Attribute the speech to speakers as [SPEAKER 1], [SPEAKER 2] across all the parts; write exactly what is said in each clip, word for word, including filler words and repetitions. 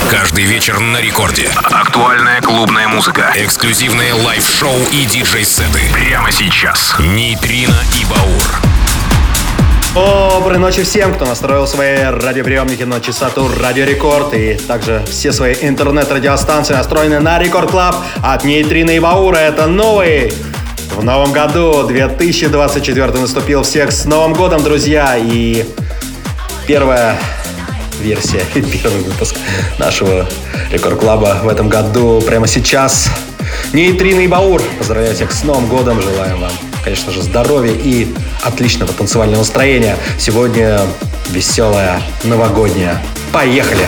[SPEAKER 1] Каждый вечер на рекорде. Актуальная клубная музыка. Эксклюзивные лайв-шоу и диджей-сеты. Прямо сейчас. Нейтрино и Баур.
[SPEAKER 2] Доброй ночи всем, кто настроил свои радиоприемники на частоту Радио Рекорд. И также все свои интернет-радиостанции настроены на Рекорд Клаб от Нейтрино и Баура. Это новый в новом году. две тысячи двадцать четвёртый наступил. Всех с Новым годом, друзья. И первая версия, первый выпуск нашего Рекорд Клаба в этом году прямо сейчас. Нейтрино и Баур. Поздравляю всех с Новым годом. Желаем вам, конечно же, здоровья и отличного танцевального настроения. Сегодня веселая новогодняя. Поехали!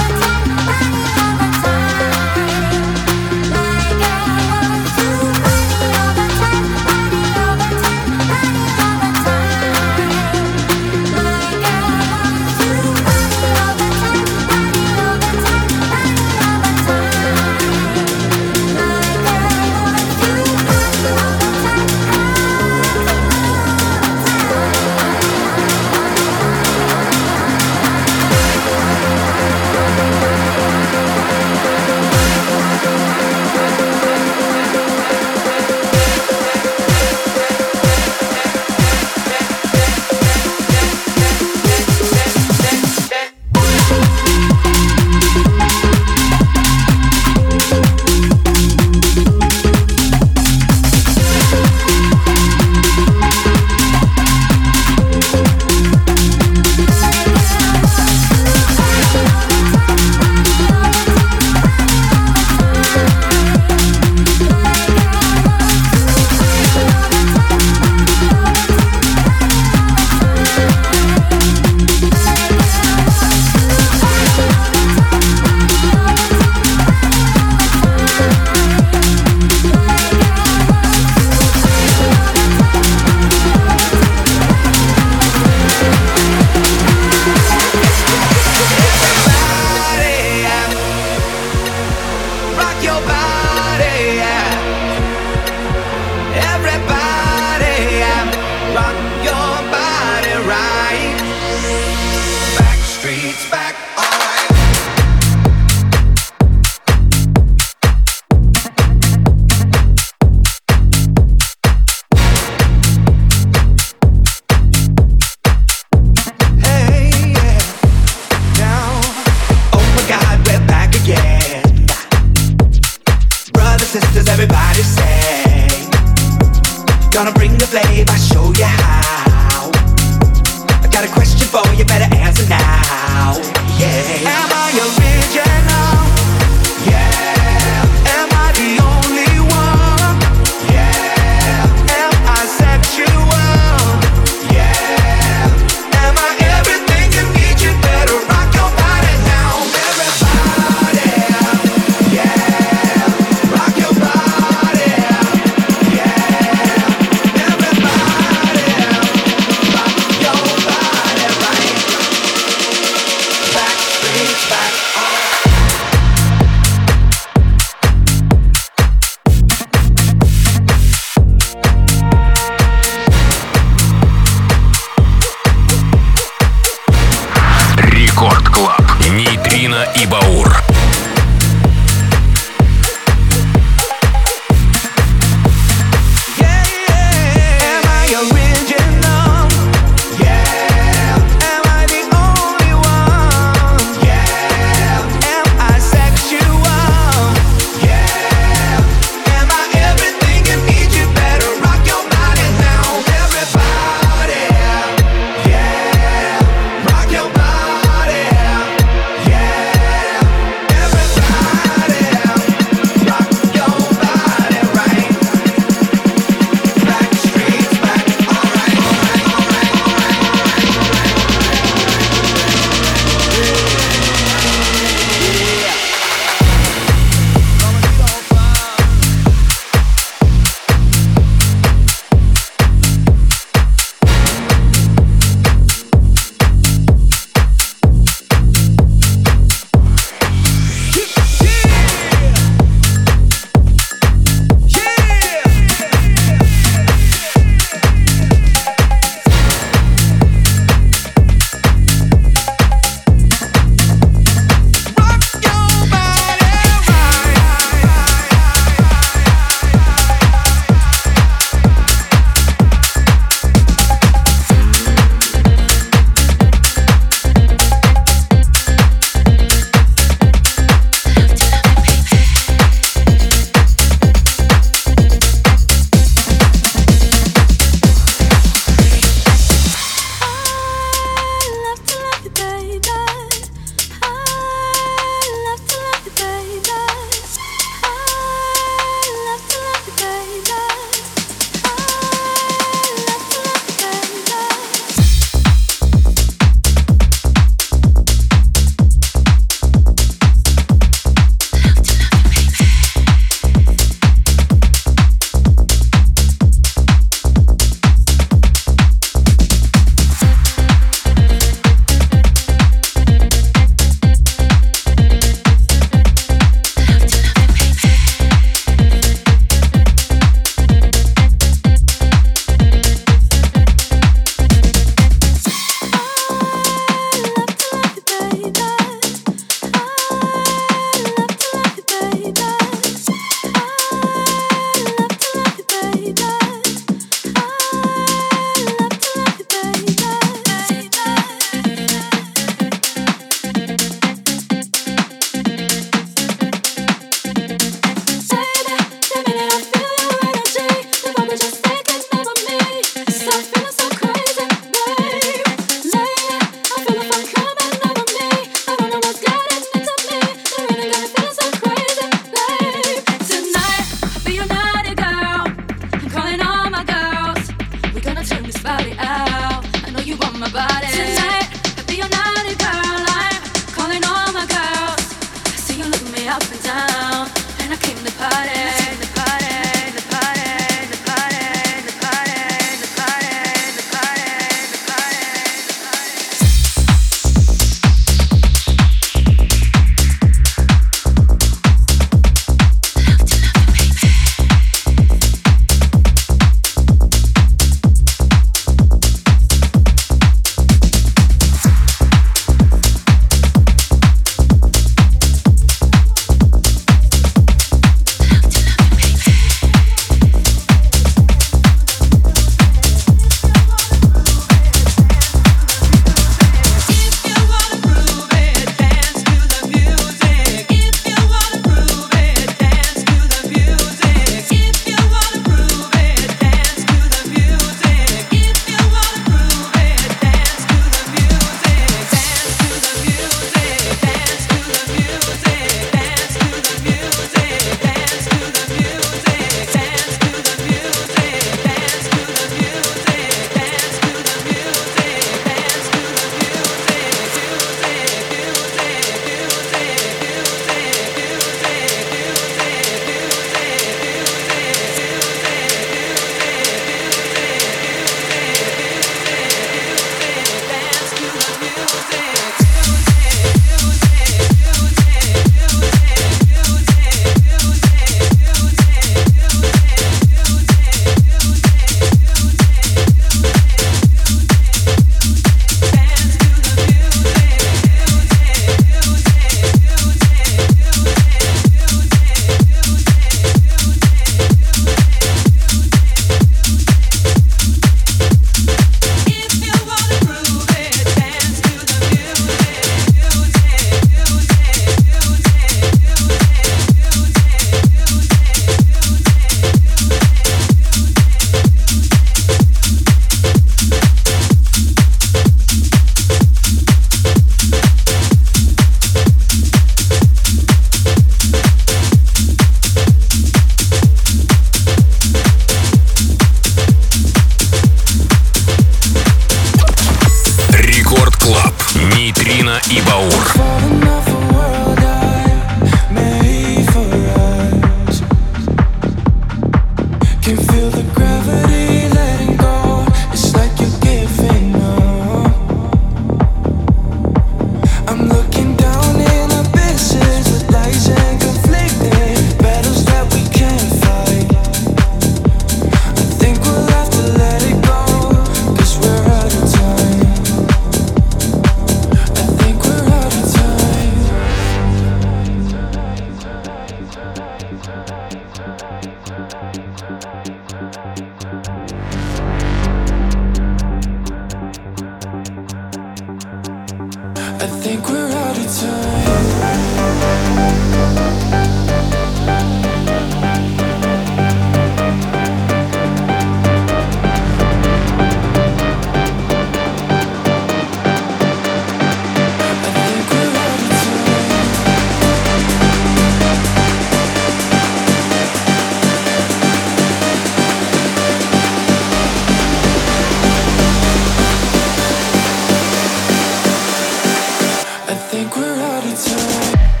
[SPEAKER 3] I think we're out of time.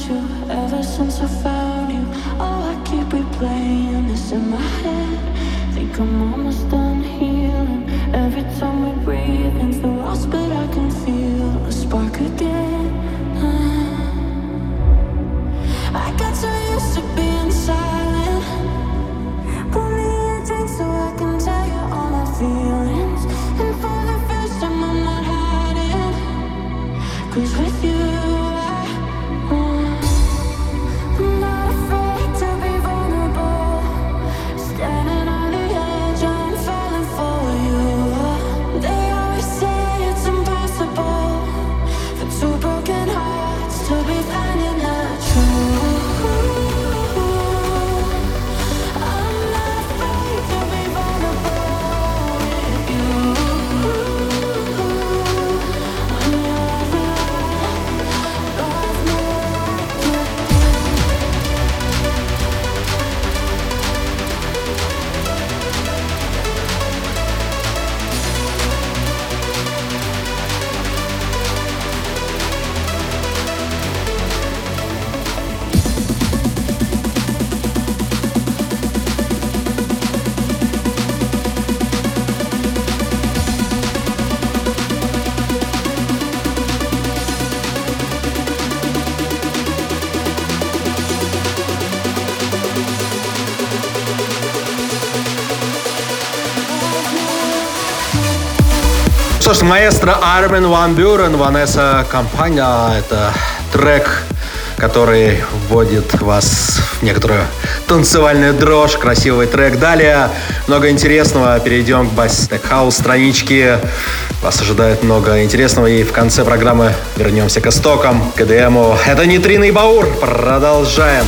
[SPEAKER 2] Что ж, маэстро Армин ван Бюрен, Ванесса Компания. Это трек, который вводит вас в некоторую танцевальную дрожь. Красивый трек. Далее много интересного. Перейдем к Bass House страничке. Вас ожидает много интересного. И в конце программы вернемся к истокам, к и ди эм. Это Нейтрино и Баур. Продолжаем.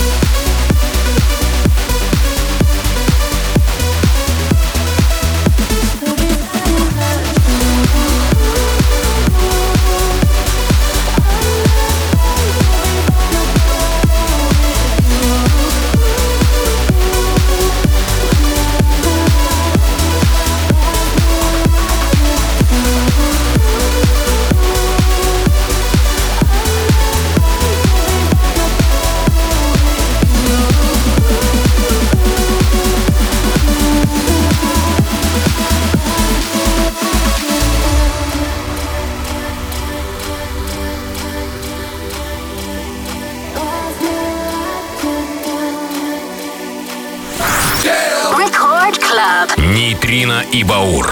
[SPEAKER 1] Нейтрино и Баур.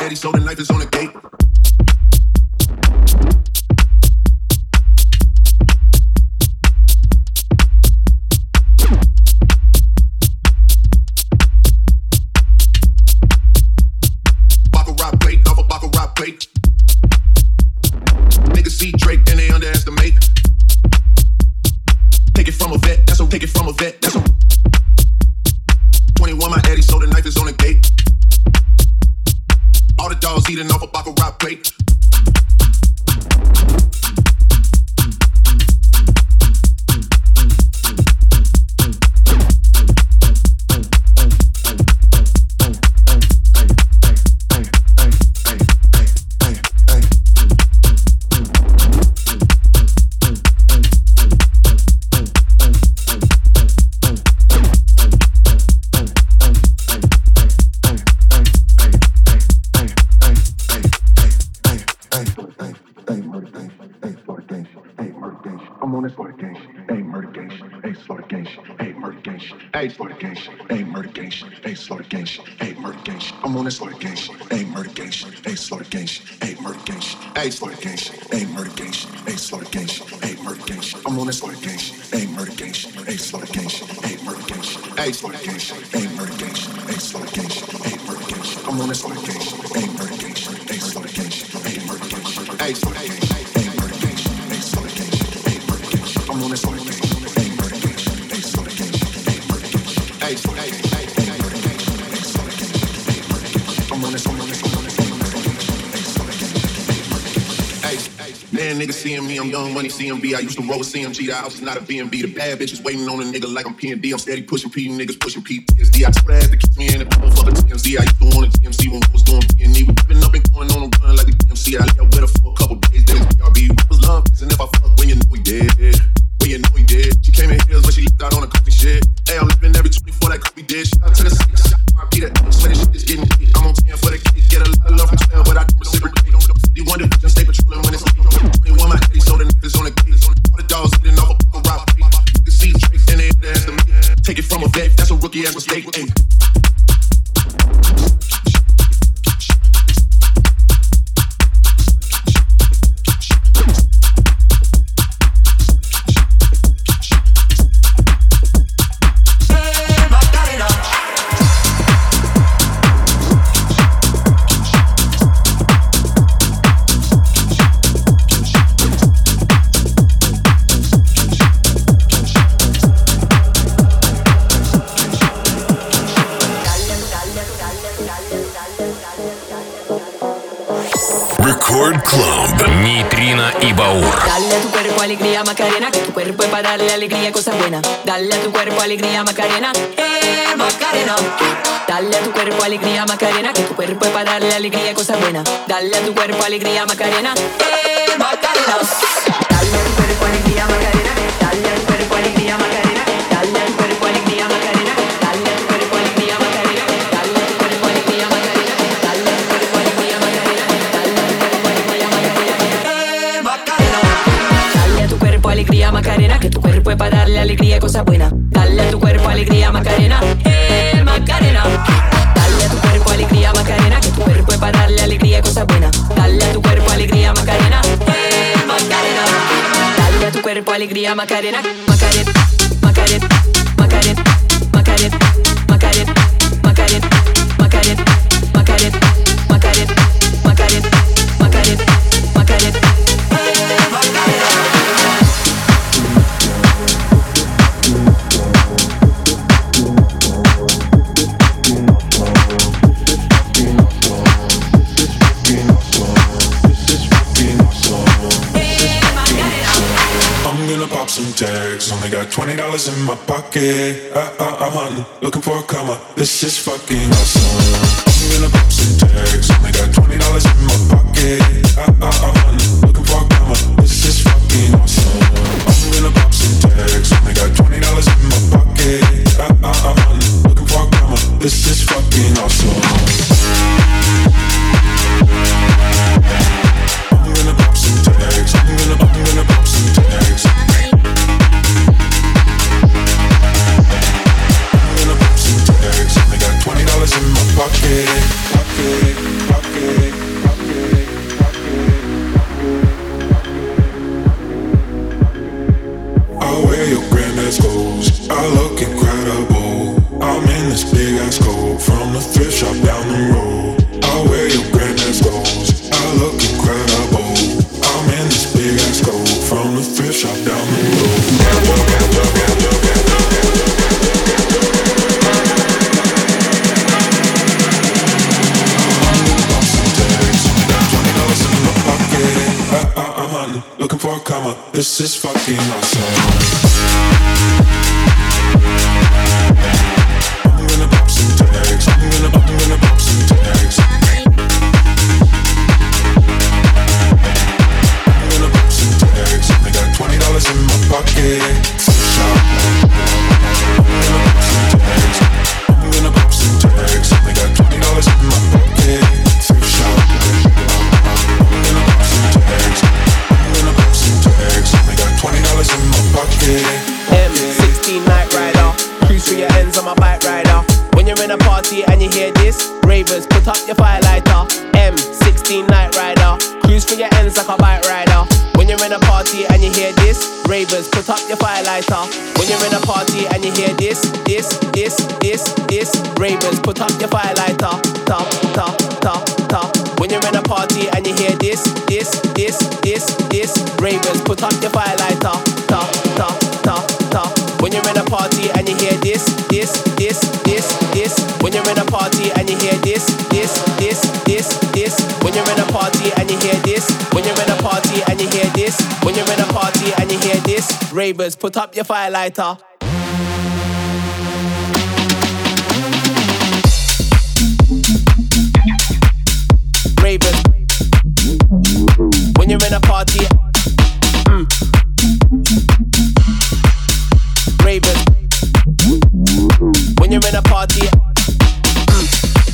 [SPEAKER 3] Eddie, so the knife is on the gate. Baccarat plate, off a baccarat plate. Niggas see Drake and they underestimate. Take it from a vet, that's a take it from a vet, that's a twenty-one my Eddie, so the knife is on the gate. All the dogs eating off a baccarat plate. Hey, litigation, ain't litigation, ain't litigation, ain't litigation. I'm on this litigation, ain't litigation, ain't litigation, ain't litigation, ain't litigation, ain't litigation, ain't litigation, ain't litigation. I'm on this litigation, ain't litigation, ain't litigation, ain't litigation, ain't litigation, ain't litigation, ain't litigation, ain't litigation. I'm on this litigation, ain't litigation, ain't litigation, ain't litigation, ain't litigation, ain't litigation, ain't litigation, ain't litigation. I'm on this litigation. Man, niggas seeing me, I'm Young Money, C M B. I used to roll with C M G, the house is not a B and B. The bad bitches waiting on a nigga like I'm P and D. I'm steady pushing P, niggas pushing P T S D. I told her ass to kiss me in the phone for the T M Z. I used to want a T M C when I was doing P and E. We been up and going on a run like the D M C. I left with her for a couple days, then it's B R B. Was love, and if I fuck when you know he dead. When you know he dead. She came in heels when she left out on a coffee shit. Hey, I'm living every twenty-four like Kobe did. Shout out to the city, shot my beat it. Swear this shit is getting hit. I'm on ten for the kids. Get a lot of love from twelve, but I don't reciprocate. Don't city one division, stay patrolling when it's late. twenty-one my Eddie, so the niggas on the gate. All the dogs eating off a baccarat plate. You can see Drake and they underestimate. Take it from a vet, that's a rookie ass mistake. Ay.
[SPEAKER 1] Record Club, Нейтрино и Баур.
[SPEAKER 4] Dale a tu cuerpo alegría Macarena, que tu cuerpo es para darle alegría, cosas buenas. Dale a tu cuerpo alegría Macarena, eh Macarena. Dale a tu cuerpo alegría Macarena, que tu cuerpo es para darle alegría, cosas buenas. Dale a tu cuerpo alegría Macarena, eh Macarena. Dale a tu cuerpo alegría Macarena, dale a tu cuerpo alegría Macarena, dale a tu cuerpo alegría Macarena, dale a tu cuerpo alegría Macarena, dale a tu cuerpo alegría Macarena, dale a tu cuerpo alegría Macarena, dale a tu cuerpo alegría Macarena, eh Macarena. Dale a tu cuerpo alegría Macarena, que tu cuerpo es para darle alegría, cosas buenas. Dale a tu cuerpo alegría Macarena, eh Macarena. Dale a tu cuerpo alegría Macarena, que tu cuerpo es para darle alegría, cosas buenas. Dale a tu cuerpo alegría Macarena, eh Macarena. Dale a tu cuerpo alegría Macarena, Macarena, Macarena, Macarena, Macarena, Macarena, Macarena, Macarena, Macarena, Macarena, Macarena, Macarena, Macarena, eh Macarena.
[SPEAKER 5] Pop some tags, only got twenty dollars in my pocket. I, I, I'm hunting, looking for a come up. This is fucking awesome. I'm gonna pop some tags, only got twenty dollars in my pocket. I, I, I'm hunting, looking for a come up. This is fucking awesome. I'm gonna pop some tags, only got twenty dollars in my pocket. I, I, I'm hunting, looking for a come up. This is fucking awesome. I'm gonna pop some tags, I'm gonna, I'm gonna pop some tags. Only got twenty dollars in my pocket. comma. This is fucking awesome. I'm gonna pop some tags. I'm gonna, I'm gonna pop some tags. I'm gonna pop some tags. I got twenty dollars in my pocket. Shop. I'm gonna pop some tags. I'm gonna pop some tags. I got twenty dollars in my pocket. Thrift shop. I'm gonna pop some tags. I'm gonna pop some tags. I got twenty dollars in my pocket.
[SPEAKER 6] M sixteen Night Rider, cruise through your ends on my bike rider. When you're in a party and you hear this, ravers, put up your firelighter. M sixteen Night Rider, cruise through your ends like a bike rider. When you're in a party and you hear this, ravers, put up your firelighter. When you're in a party and you hear this, this, this, this, this, ravers, put up your firelighter. Top, top, top, top. When you're in a party and you hear this, this, this, this, this, ravers, put up your firelighter. Top, top, top, top. When you're in a party and you hear this, this, this, this, this. When you're in a party and you hear this, this, this, this, this. When you're in a party and you hear this, when you're in a party and you hear this, when you're in a party and you hear this, ravers, put up your firelighter. Ravers. When you're in a party, mm. Ravers. When you're in a party, mm.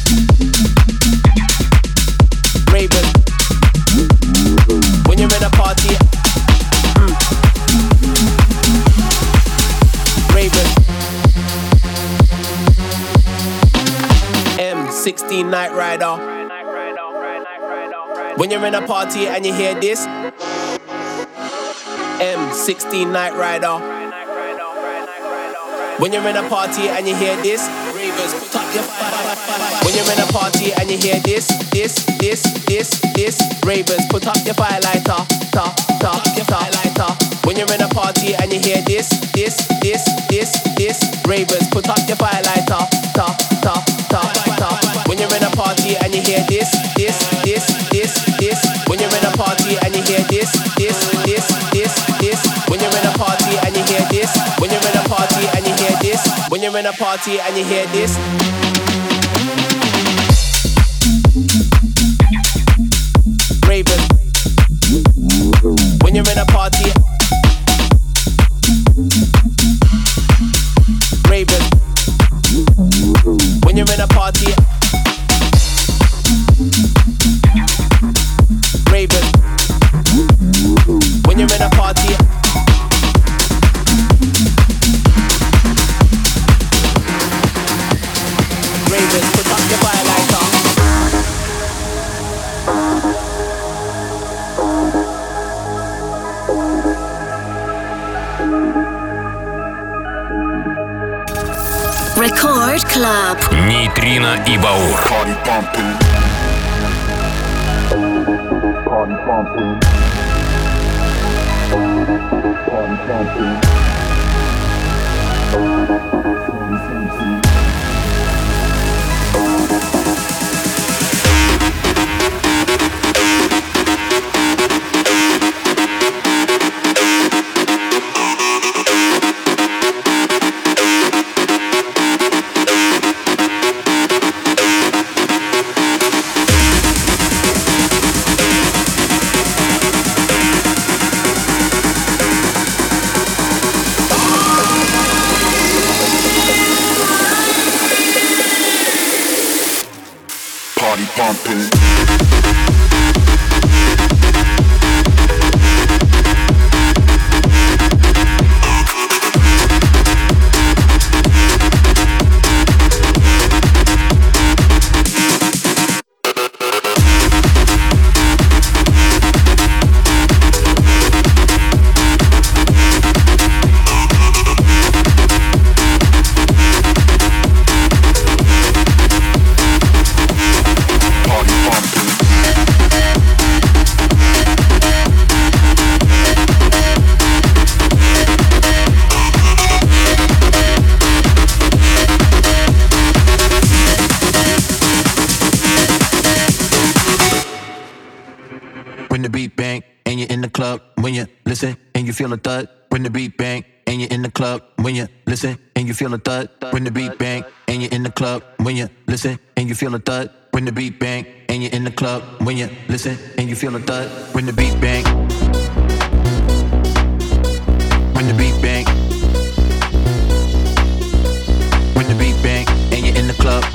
[SPEAKER 6] Ravers. When you're in a party, mm. Ravers. M sixteen Night Rider. When you're in a party and you hear this, M sixteen Night Rider. When you're in a party and you hear this, ravers, put up your fire. When you're in a party and you hear this, this, this, this, this, ravers, put up your firelighter. Top, top, your firelighter. When you're in a party and you hear this, this, this, this, this, ravers, put up your firelighter. Top, top, top, top. When you're in a party and you hear this, this, this, this, this. When you're in a party and you hear this, this, this, this, this. When you're in a party and you hear this, when you're in a party and you hear this, when you're in a party and you hear this. Ravers. When you're in a party. Ravers. When you're in a party. Ravers. When you're in a party. Ravers, put up your firelighter.
[SPEAKER 7] Record Club.
[SPEAKER 1] Нейтрино и Баур.
[SPEAKER 3] Party bumping. Party bumping. Party bumping. Party bumping.
[SPEAKER 7] and you're in the club. When you listen and you feel a thud, when the beat bang and you're in the club. When you listen and you feel a thud, when the beat bang and you're in the club. When you listen and you feel a thud, when the beat bang and you're in the club. When you listen and you feel a thud, when the beat bang. When the beat bang. When the beat bang and you're in the club.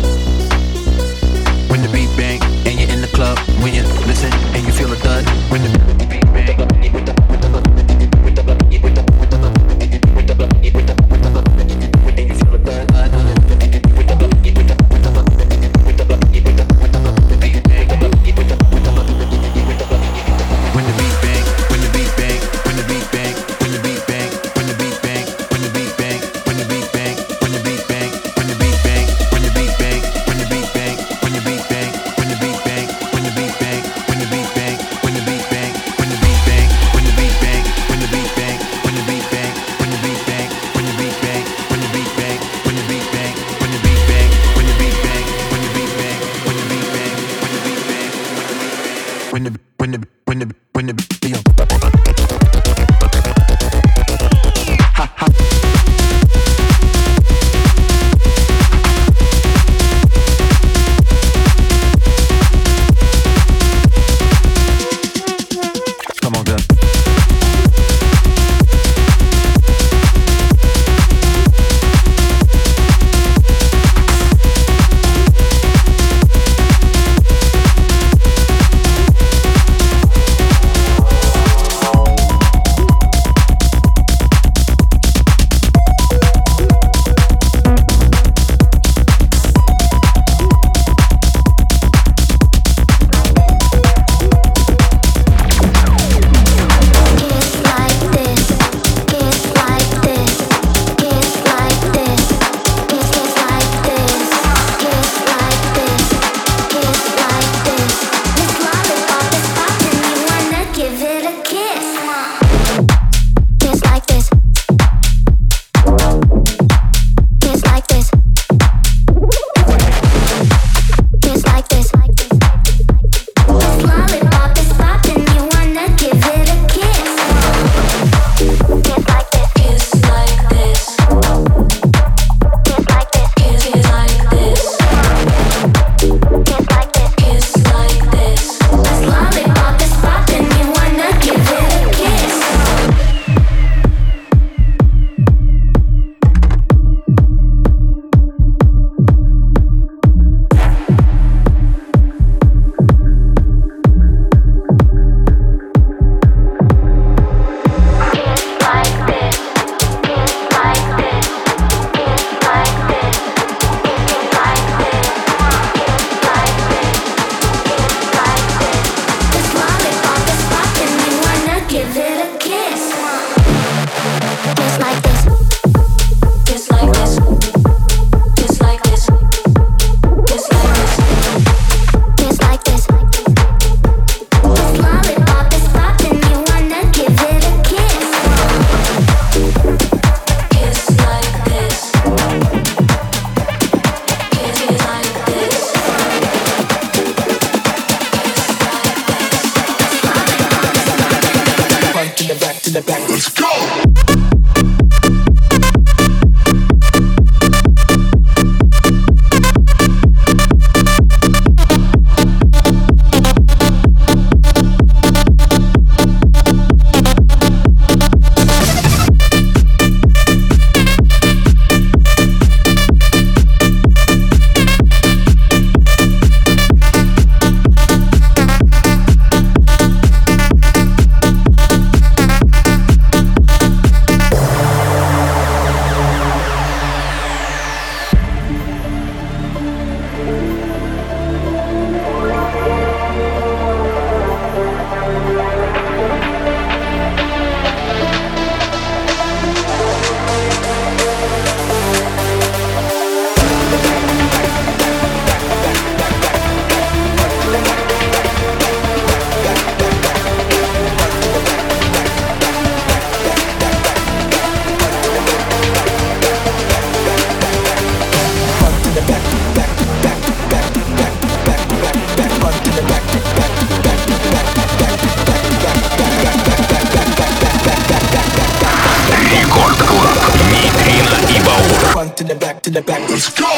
[SPEAKER 7] When the beat bang and you're in the club. When you listen and you feel a thud. When the beat bang.
[SPEAKER 6] to the back. Let's go.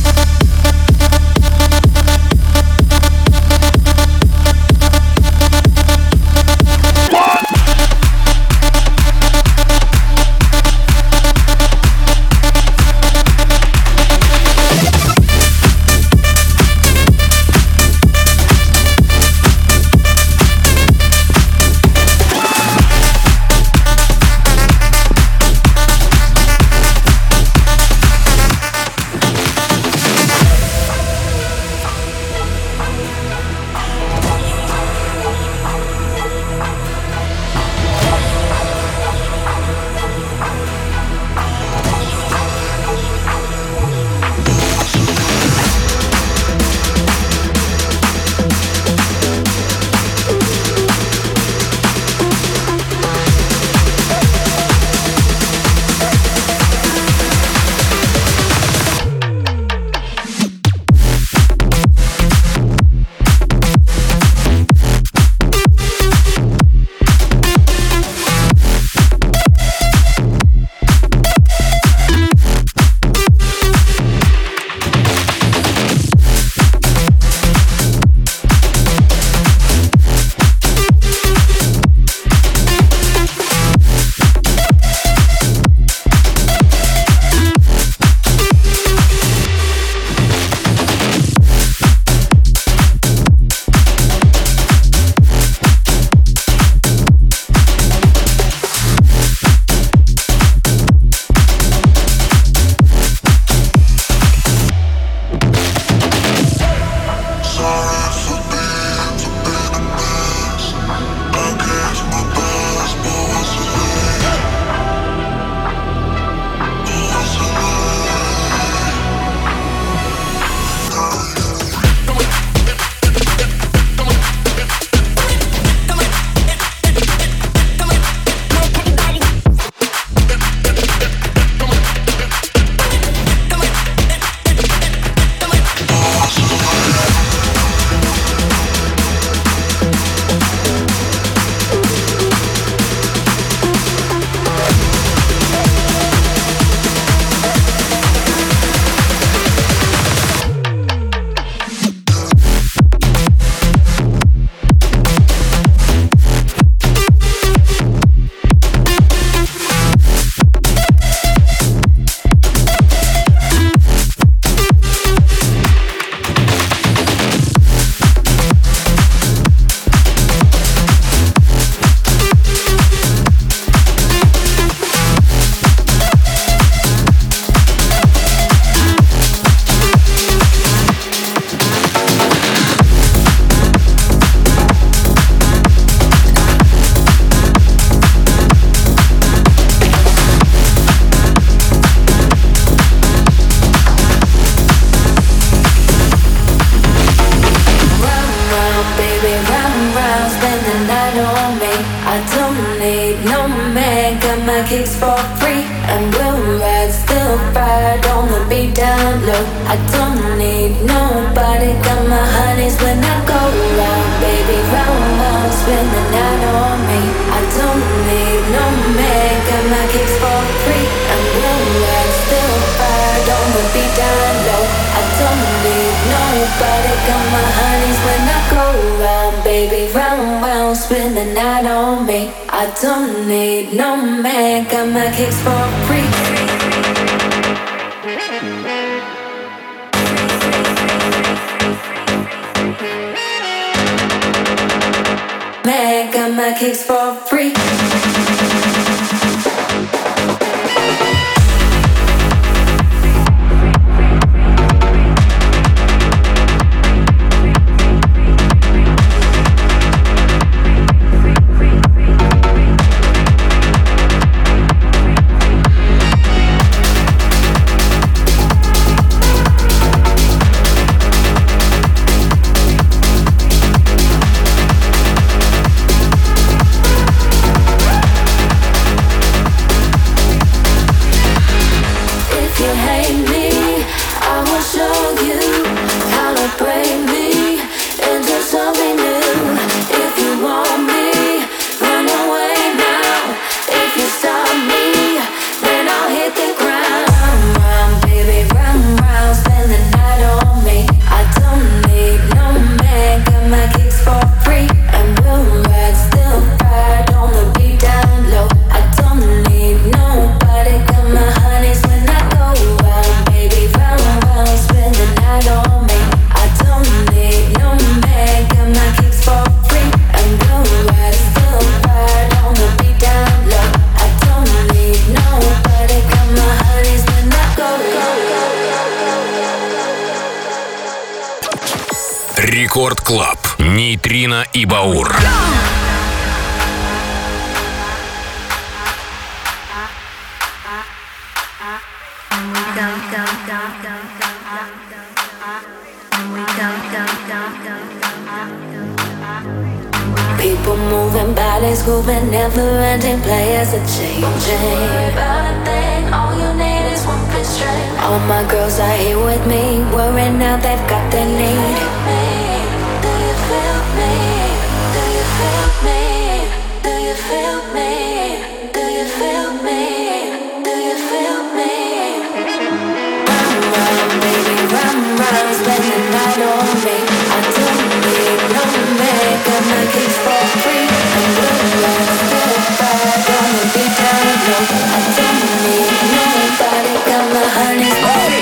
[SPEAKER 8] kicks for free, and we'll ride, still ride on the beat down low. I don't need nobody, got my honeys when I go round, baby, round, round, spend the night on me. I don't need no man, got my kicks for free, and we'll ride, still ride on the beat down low. I don't need nobody, got my honeys when I go round, baby, round, round, spend the night on me. I don't need no man, got my kicks for free. Man, got my kicks for free.
[SPEAKER 1] Рекорд Клаб. Нейтрино и Баур.
[SPEAKER 8] People moving, bodies grooving, never-ending players are changing. About a thing, all you need is one good string. All my girls are here with me, worrying now they've got their need. Do you feel me? Do you feel me? Do you feel me? Do you feel me? Do you feel me? Run, run, baby, run, run, spend the night on me. I don't need no man, got my kicks for free. And we'll last till Friday, gonna be down low. I don't need nobody, got my honey's ready.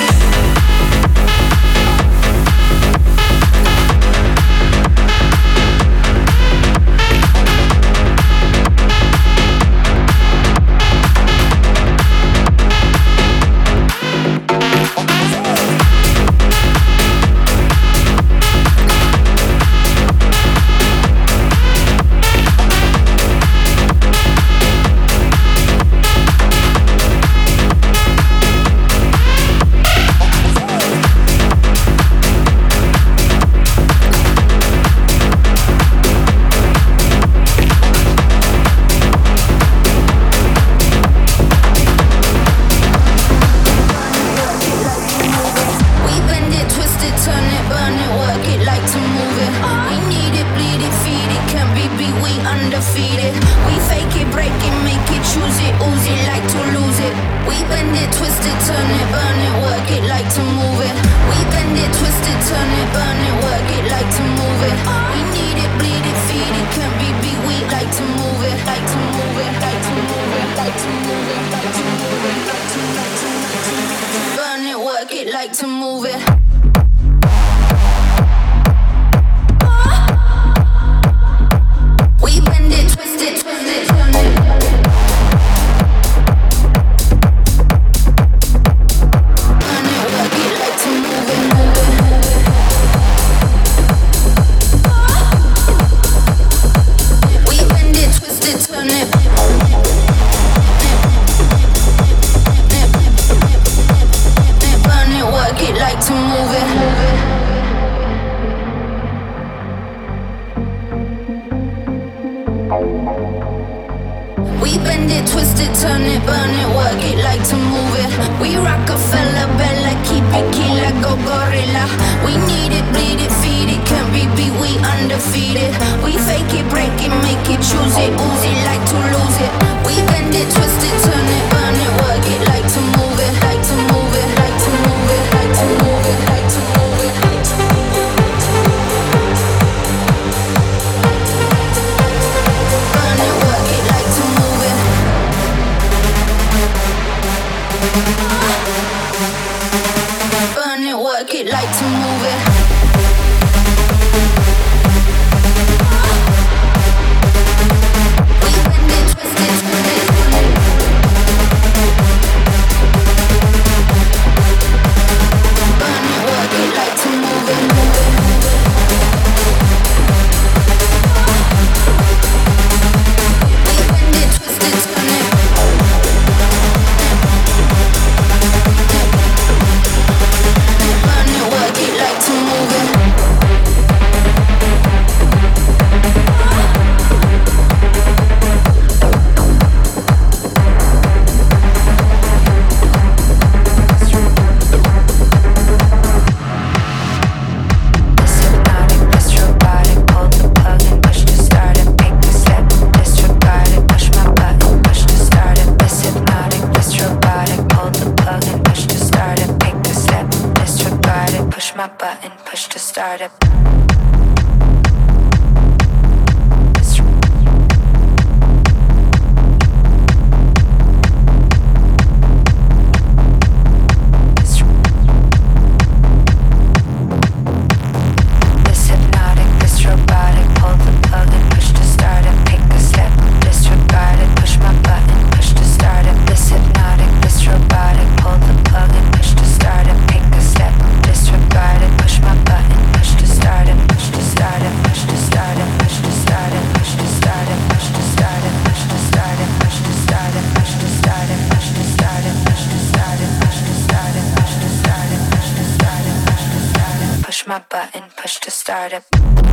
[SPEAKER 8] started.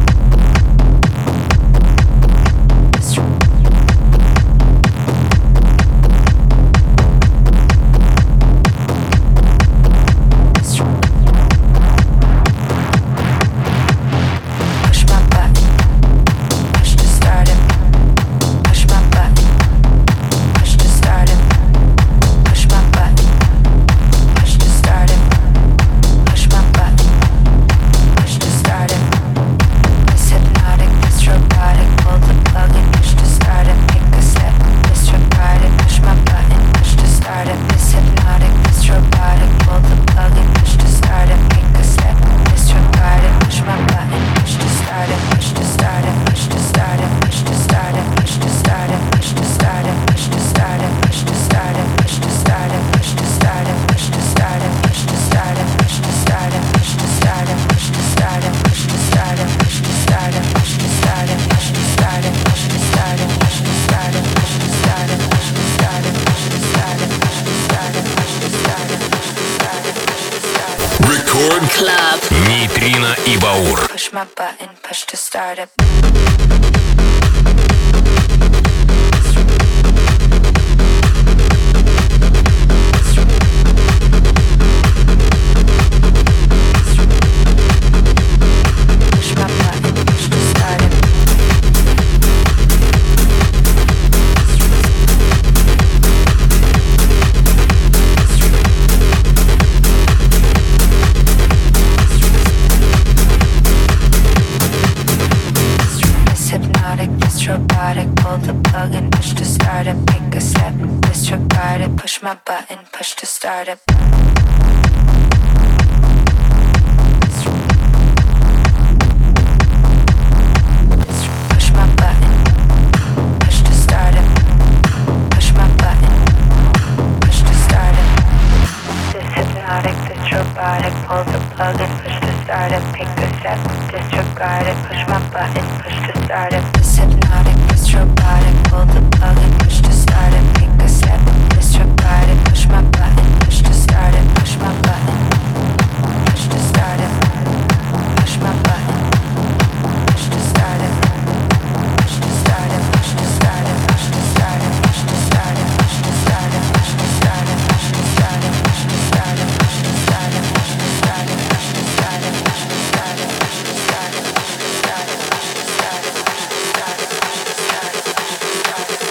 [SPEAKER 1] Нейтрино и Баур.
[SPEAKER 8] Push my button, push to start it. Push my button, push to start it. Push my button, push to start it. Push my button, push to start it. This hypnotic, this robotic, pull the plug and push to start it. Pick a step, disregard it. Push my button, push to start it. This hypnotic, this robotic, pull the plug and push to start it. Pick a step, disregard it. Push my button, push to start it. Push my button, push to start it. Push my button, push to start it. Push to start it. Push to start it. Push to start it. Push to start it. Push to start it. Push to start it. Push to start it. Push to start it. Push to start it. Push to start it. Push to start it. Push to start it. Push to start it. Push to start it. Push to start it. Push to start it. Push to start it. Push to start it.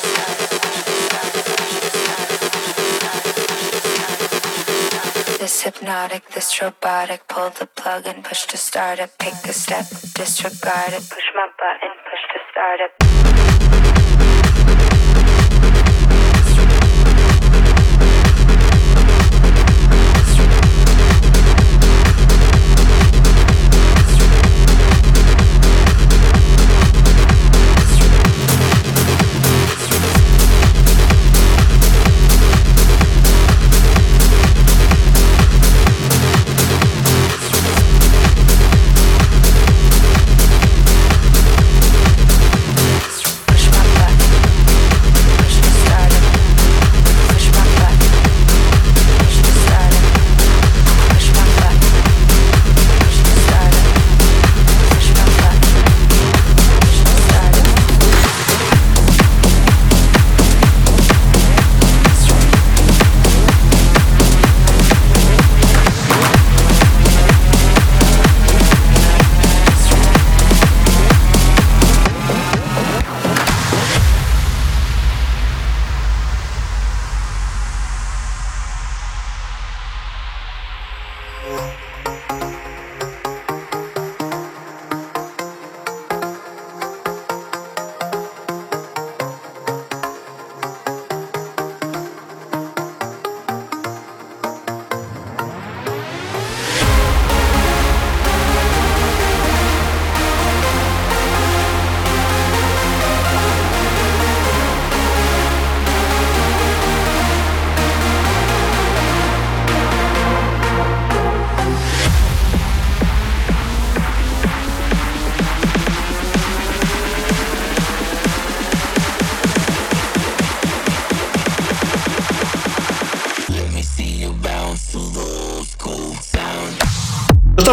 [SPEAKER 8] This hypnotic, this robotic, pull the plug and push to start it. Pick a step, disregard it. Push my button, push to start it.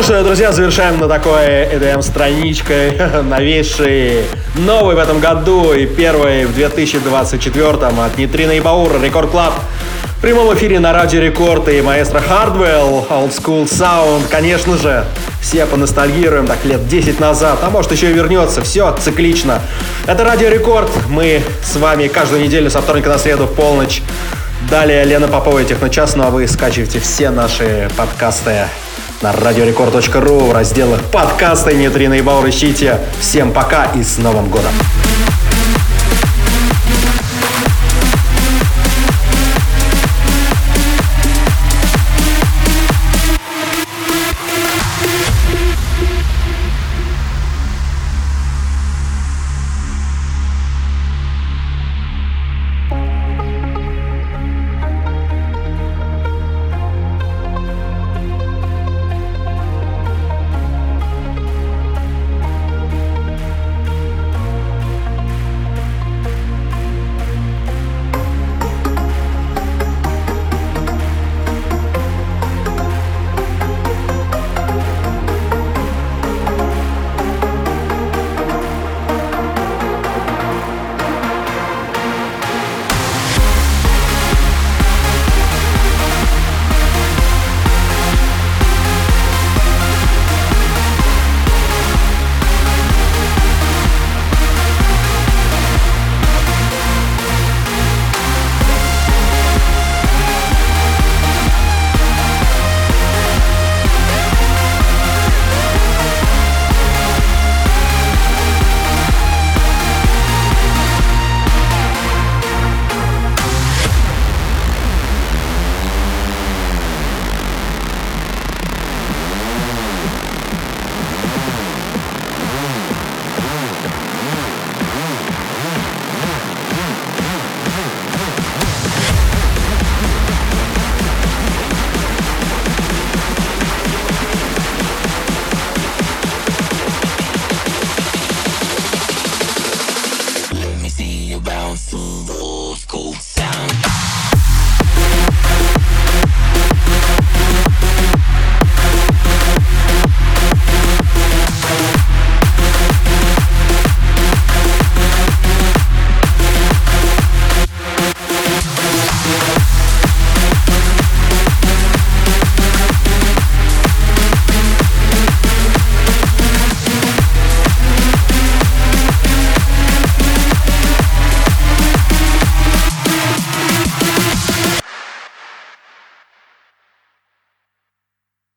[SPEAKER 2] что ж, друзья, завершаем на такой и ди эм-страничкой новейший, новый в этом году и первый в две тысячи двадцать четвёртом от Нейтрина и Баура Рекорд Клаб. В прямом эфире на Радио Рекорд и маэстро Hardwell, Old School Sound. Конечно же, все поностальгируем так лет десять назад, а может еще и вернется. Все циклично. Это Радио Рекорд. Мы с вами каждую неделю со вторника на среду в полночь. Далее Лена Попова и Техночас, ну а вы скачивайте все наши подкасты на радиорекорд точка ру в разделах подкасты Нейтрина и Баур. Ищите. Всем пока и с Новым годом!